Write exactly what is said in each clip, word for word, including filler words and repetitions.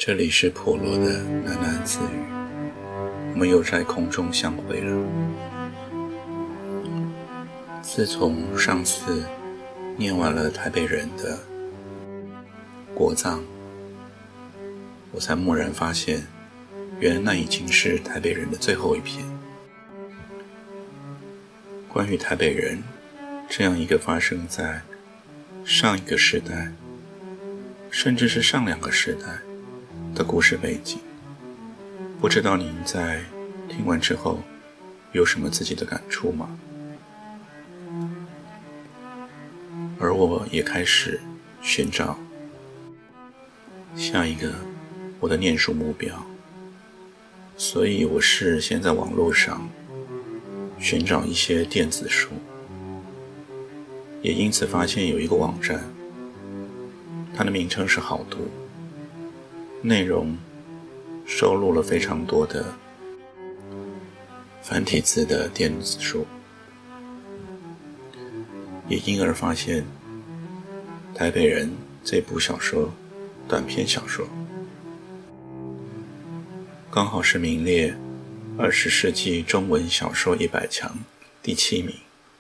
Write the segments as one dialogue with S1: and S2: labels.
S1: 这里是普罗的喃喃自语，我们又在空中相会了。自从上次念完了台北人的国葬，我才蓦然发现，原来那已经是台北人的最后一篇。关于台北人这样一个发生在上一个时代，甚至是上两个时代的故事背景，不知道您在听完之后有什么自己的感触吗？而我也开始寻找下一个我的念书目标，所以我是先在网络上寻找一些电子书，也因此发现有一个网站，它的名称是好读，内容收录了非常多的繁体字的电子书，也因而发现台北人这部小说短篇小说刚好是名列二十世纪中文小说一百强第七名。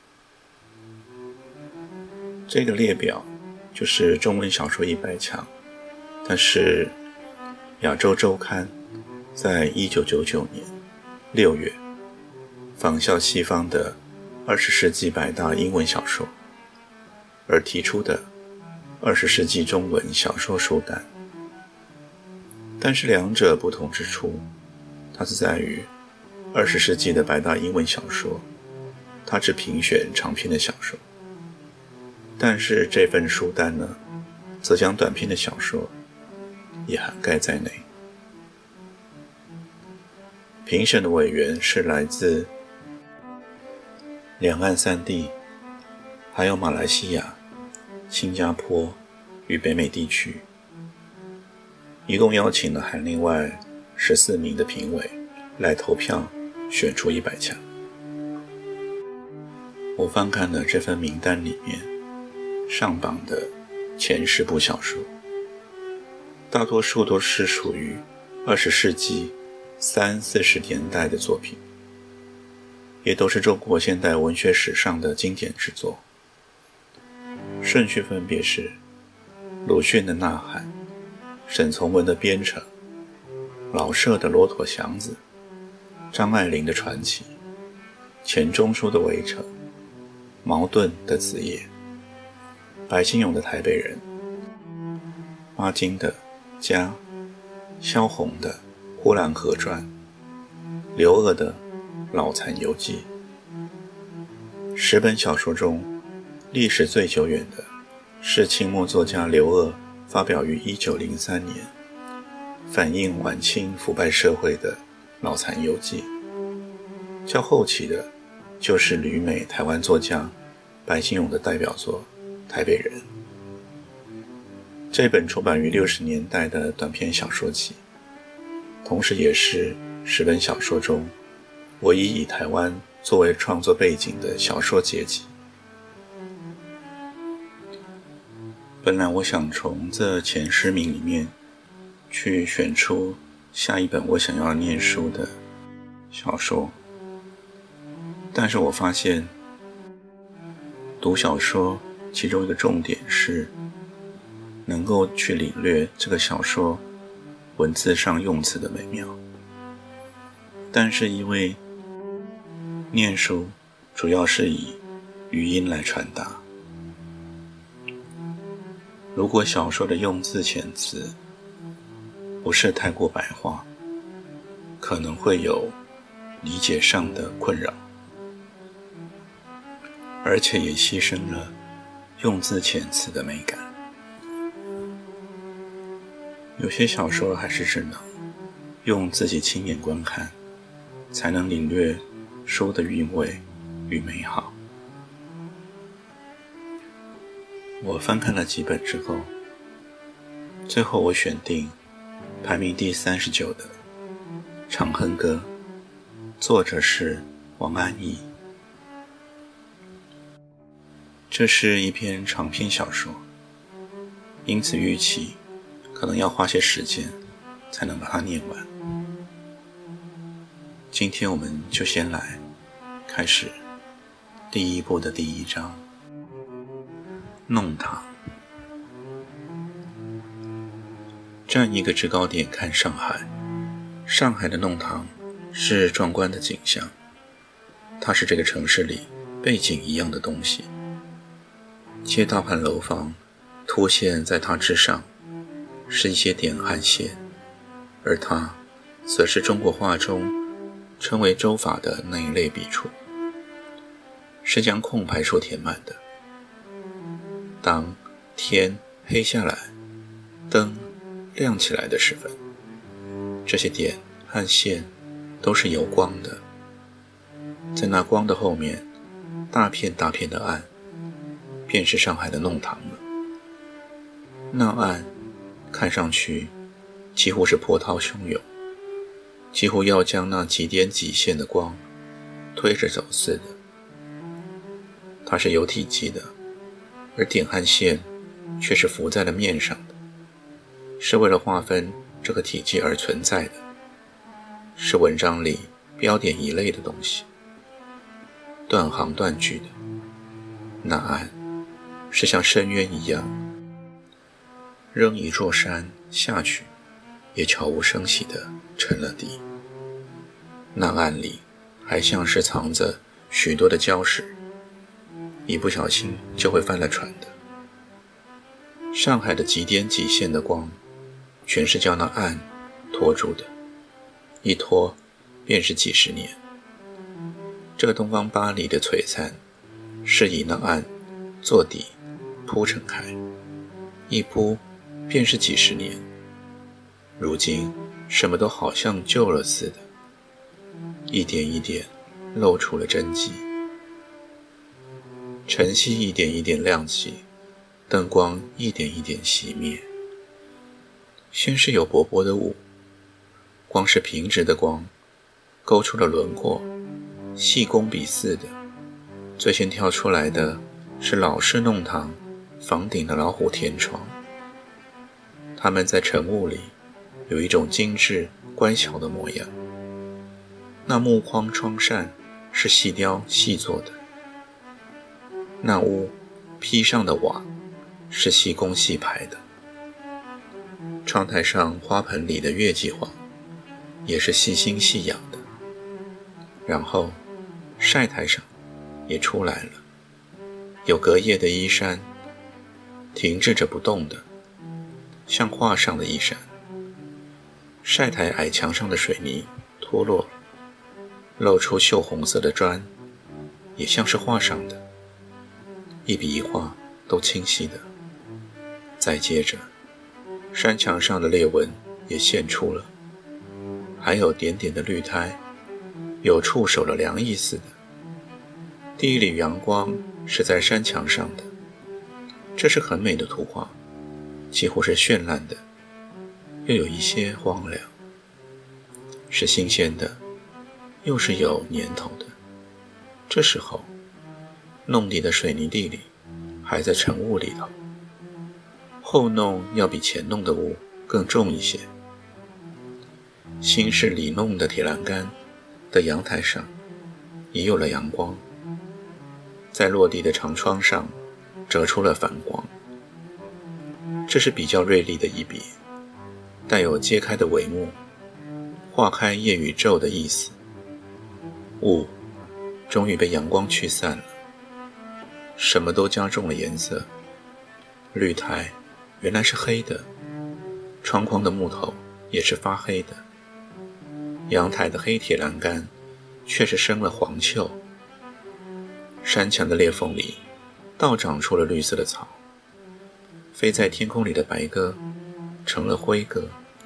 S1: 这个列表就是中文小说一百强，但是亚洲周刊在一九九九年六月仿效西方的二十世纪百大英文小说而提出的二十世纪中文小说书单。但是两者不同之处，它是在于二十世纪的百大英文小说，它只评选长篇的小说，但是这份书单呢，则将短篇的小说也涵盖在内。评审的委员是来自两岸三地，还有马来西亚、新加坡与北美地区，一共邀请了含另外十四名的评委来投票选出一百强。我翻看了这份名单里面上榜的前十部小说，大多数都是属于二十世纪三四十年代的作品，也都是中国现代文学史上的经典之作。顺序分别是鲁迅的《呐喊》，沈从文的《边城》，老舍的《骆驼祥子》，张爱玲的《传奇》，钱钟书的《围城》，茅盾的《子夜》，白先勇的《台北人》，巴金的《家》，萧红的《呼兰河传》，刘鹗的《老残游记》。十本小说中，历史最久远的是清末作家刘鹗发表于一九零三年，反映晚清腐败社会的《老残游记》。较后期的就是旅美台湾作家白先勇的代表作《台北人》。这本出版于六十年代的短篇小说集，同时也是十本小说中唯一以台湾作为创作背景的小说结集。本来我想从这前十名里面去选出下一本我想要念书的小说，但是我发现读小说其中一个重点是能够去领略这个小说文字上用词的美妙，但是因为念书主要是以语音来传达，如果小说的用字遣词不是太过白话，可能会有理解上的困扰，而且也牺牲了用字遣词的美感。有些小说还是只能用自己亲眼观看，才能领略书的韵味与美好。我翻看了几本之后，最后我选定排名第三十九的《长恨歌》，作者是王安忆。这是一篇长篇小说，因此预期可能要花些时间才能把它念完。今天我们就先来开始第一部的第一章，弄堂。站一个制高点看上海，上海的弄堂是壮观的景象，它是这个城市里背景一样的东西。街道和楼房凸现在它之上，是一些点和线，而它则是中国画中称为周法的那一类笔触，是将空白处填满的。当天黑下来，灯亮起来的时分，这些点和线都是有光的，在那光的后面，大片大片的暗，便是上海的弄堂了。那暗看上去几乎是波涛汹涌，几乎要将那几点几线的光推着走似的。它是有体积的，而点和线却是浮在了面上的，是为了划分这个体积而存在的，是文章里标点一类的东西，断行断句的。那暗是像深渊一样，扔一座山下去也悄无声息地沉了底。那暗里还像是藏着许多的礁石，一不小心就会翻了船的。上海的几点几线的光全是叫那暗拖住的，一拖便是几十年。这个东方巴黎的璀璨是以那暗做底铺陈开，一铺便是几十年。如今什么都好像旧了似的，一点一点露出了真迹。晨曦一点一点亮起，灯光一点一点熄灭。先是有薄薄的雾，光是平直的光勾出了轮廓，细工笔似的。最先跳出来的是老式弄堂房顶的老虎天窗，它们在晨雾里有一种精致乖巧的模样。那木框窗扇是细雕细做的，那屋披上的瓦是细工细排的，窗台上花盆里的月季黄也是细心细养的。然后晒台上也出来了，有隔夜的衣衫，停滞着不动的，像画上的衣衫。晒台矮墙上的水泥脱落了，露出锈红色的砖，也像是画上的，一笔一画都清晰的。再接着，山墙上的裂纹也现出了，还有点点的绿苔，有触手的凉意似的。第一缕阳光是在山墙上的，这是很美的图画，几乎是绚烂的，又有一些荒凉，是新鲜的，又是有年头的。这时候弄底的水泥地里还在晨雾里头，后弄要比前弄的雾更重一些。新式里弄的铁栏杆的阳台上也有了阳光，在落地的长窗上折出了反光。这是比较锐利的一笔，带有揭开的帷幕，化开夜与昼的意思。雾终于被阳光驱散了，什么都加重了颜色。绿苔原来是黑的，窗框的木头也是发黑的，阳台的黑铁栏杆却是生了黄锈。山墙的裂缝里倒长出了绿色的草，飞在天空里的白鸽成了灰鸽。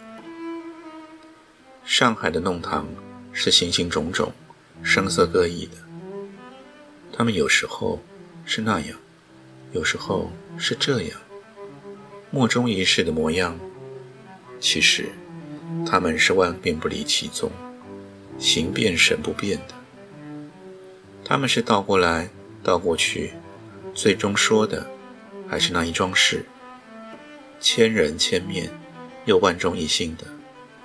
S1: 上海的弄堂是形形种种声色各异的，它们有时候是那样，有时候是这样，莫衷一是的模样。其实它们是万变不离其宗，形变神不变的。它们是倒过来倒过去，最终说的还是那一桩事，千人千面又万众一心的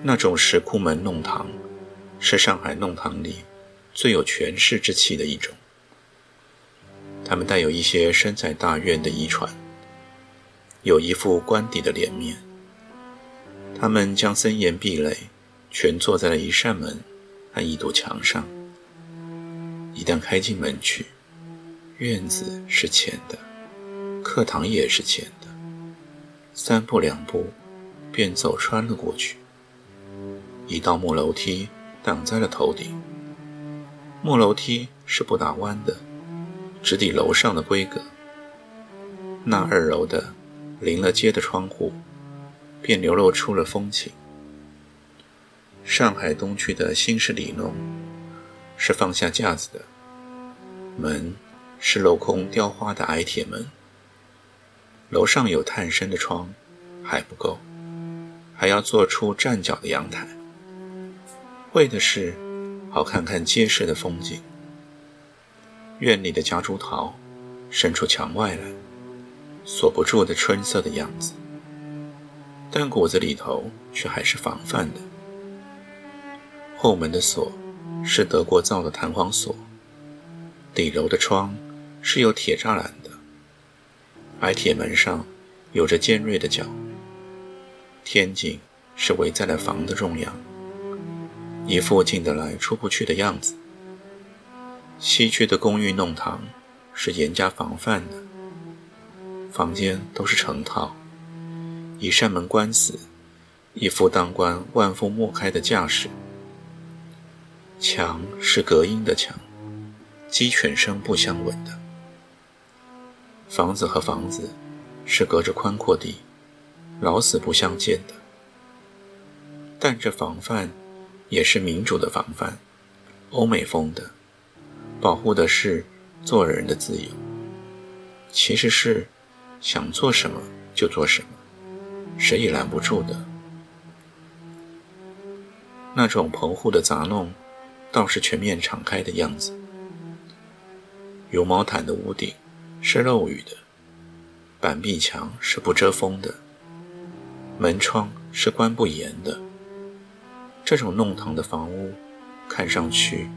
S1: 那种石库门弄堂是上海弄堂里最有权势之气的一种，他们带有一些身在大院的遗传，有一副官邸的脸面。他们将森严壁垒全坐在了一扇门和一堵墙上，一旦开进门去，院子是前的，课堂也是前的，三步两步便走穿了过去。一道木楼梯挡在了头顶，木楼梯是不打弯的，直抵楼上的规格。那二楼的临了街的窗户便流露出了风情。上海东区的新式里弄是放下架子的，门是镂空雕花的矮铁门，楼上有探身的窗还不够，还要做出站脚的阳台，为的是好看看街市的风景。院里的夹竹桃伸出墙外来，锁不住的春色的样子，但骨子里头却还是防范的。后门的锁是德国造的弹簧锁，底楼的窗是有铁栅栏的，矮铁门上有着尖锐的角，天井是围在了房的中央，一副进得来出不去的样子。西区的公寓弄堂是严加防范的，房间都是成套，一扇门关死，一副当官万夫莫开的架势。墙是隔音的墙，鸡犬声不相闻的。房子和房子是隔着宽阔地，老死不相见的。但这防范也是民主的防范，欧美风的，保护的是做人的自由，其实是想做什么就做什么，谁也拦不住的。那种棚户的杂弄倒是全面敞开的样子。油毛毯的屋顶是漏雨的，板壁墙是不遮风的，门窗是关不严的。这种弄堂的房屋看上去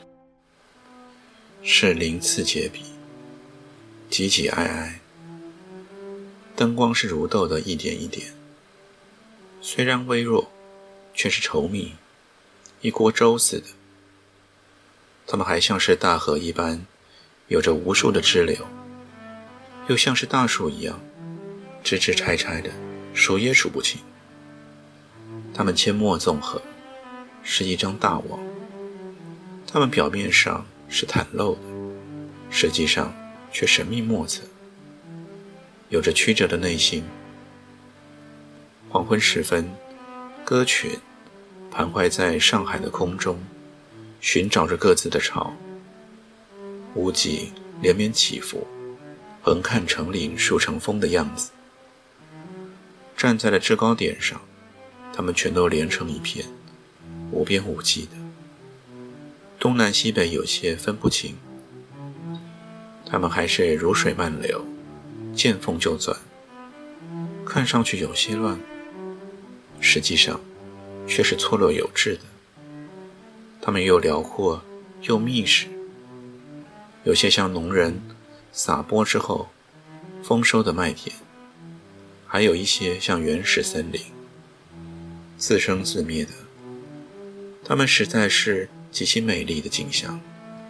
S1: 是鳞次栉比，挤挤挨挨，灯光是如豆的一点一点，虽然微弱，却是稠密，一锅粥似的。它们还像是大河一般，有着无数的支流，又像是大树一样，枝枝拆拆的，数也数不清。它们阡陌纵横，是一张大网，它们表面上是袒露的，实际上却神秘莫测，有着曲折的内心。黄昏时分，歌群徘徊在上海的空中，寻找着各自的巢。屋脊连绵起伏，横看成岭竖成峰的样子。站在了制高点上，它们全都连成一片，无边无际的，东南西北有些分不清。它们还是如水漫流，见缝就钻，看上去有些乱，实际上却是错落有致的。它们又辽阔又密实，有些像农人撒播之后丰收的麦田，还有一些像原始森林，自生自灭的。它们实在是极其美丽的景象。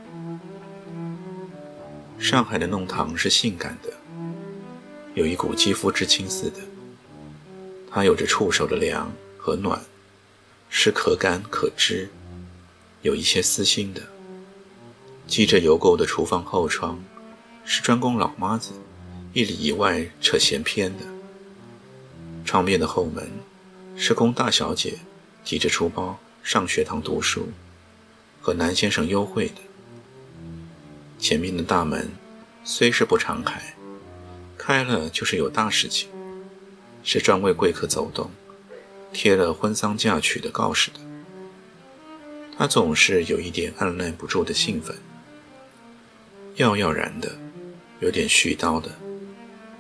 S1: 上海的弄堂是性感的，有一股肌肤之亲似的，它有着触手的凉和暖，是可感可知，有一些私心的。积着油垢的厨房后窗是专供老妈子一里以外扯闲篇的，窗边的后门是供大小姐提着书包上学堂读书和男先生幽会的。前面的大门虽是不常开，开了就是有大事情，是专为贵客走动，贴了婚丧嫁娶的告示的。他总是有一点按耐不住的兴奋，耀耀然的，有点絮叨的。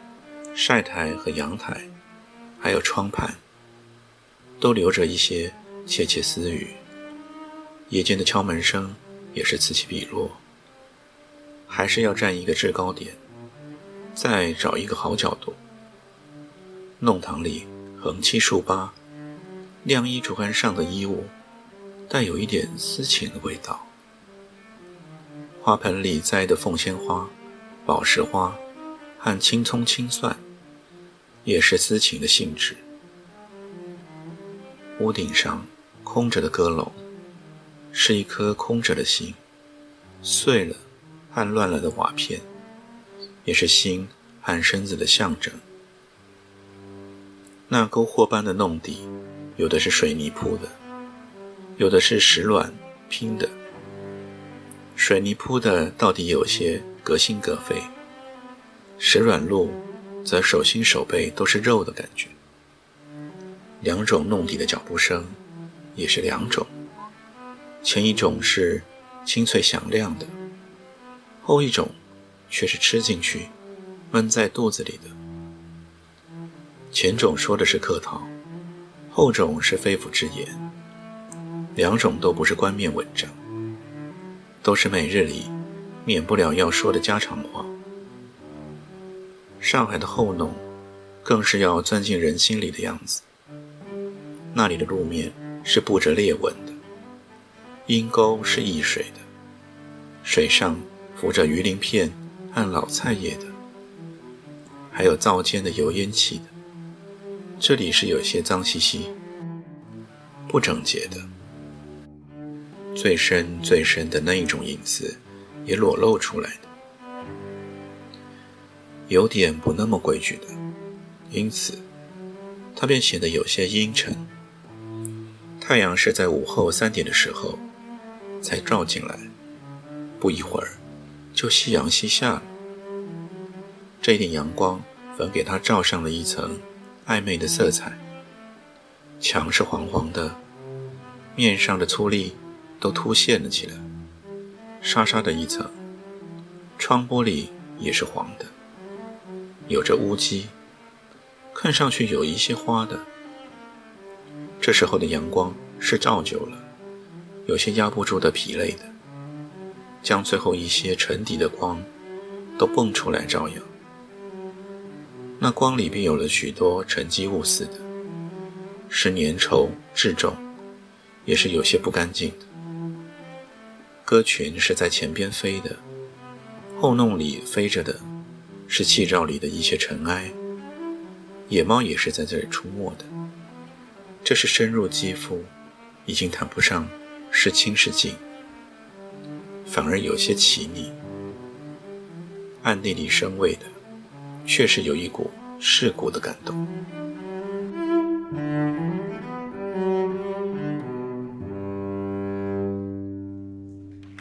S1: 晒台和阳台还有窗畔都留着一些窃窃私语，夜间的敲门声也是此起彼落。还是要站一个制高点，再找一个好角度。弄堂里横七竖八，晾衣竹竿上的衣物带有一点私情的味道。花盆里栽的凤仙花、宝石花和青葱青蒜也是私情的性质。屋顶上空着的阁楼是一颗空着的心，碎了和乱了的瓦片也是心和身子的象征。那沟壑般的弄底，有的是水泥铺的，有的是石卵拼的。水泥铺的到底有些隔心隔肺，石卵路则手心手背都是肉的感觉。两种弄底的脚步声也是两种，前一种是清脆响亮的，后一种却是吃进去闷在肚子里的。前种说的是客套，后种是肺腑之言，两种都不是冠冕文章，都是每日里免不了要说的家常话。上海的后弄更是要钻进人心里的样子。那里的路面是布着裂纹的，阴沟是溢水的，水上浮着鱼鳞片和老菜叶的，还有灶间的油烟气的。这里是有些脏兮兮、不整洁的，最深最深的那一种隐私也裸露出来的，有点不那么规矩的，因此它便显得有些阴沉。太阳是在午后三点的时候才照进来，不一会儿就夕阳西下了。这一点阳光反给它照上了一层暧昧的色彩，墙是黄黄的，面上的粗砾都凸现了起来，沙沙的一层，窗玻璃也是黄的，有着乌鸡，看上去有一些花的。这时候的阳光是照久了，有些压不住的疲累的，将最后一些沉底的光都蹦出来照耀。那光里便有了许多沉积物似的，是粘稠质重，也是有些不干净的。鸽群是在前边飞的，后弄里飞着的是气罩里的一些尘埃，野猫也是在这里出没的。这是深入肌肤，已经谈不上是清是净，反而有些奇腻。暗地里生畏的却是有一股世故的感动。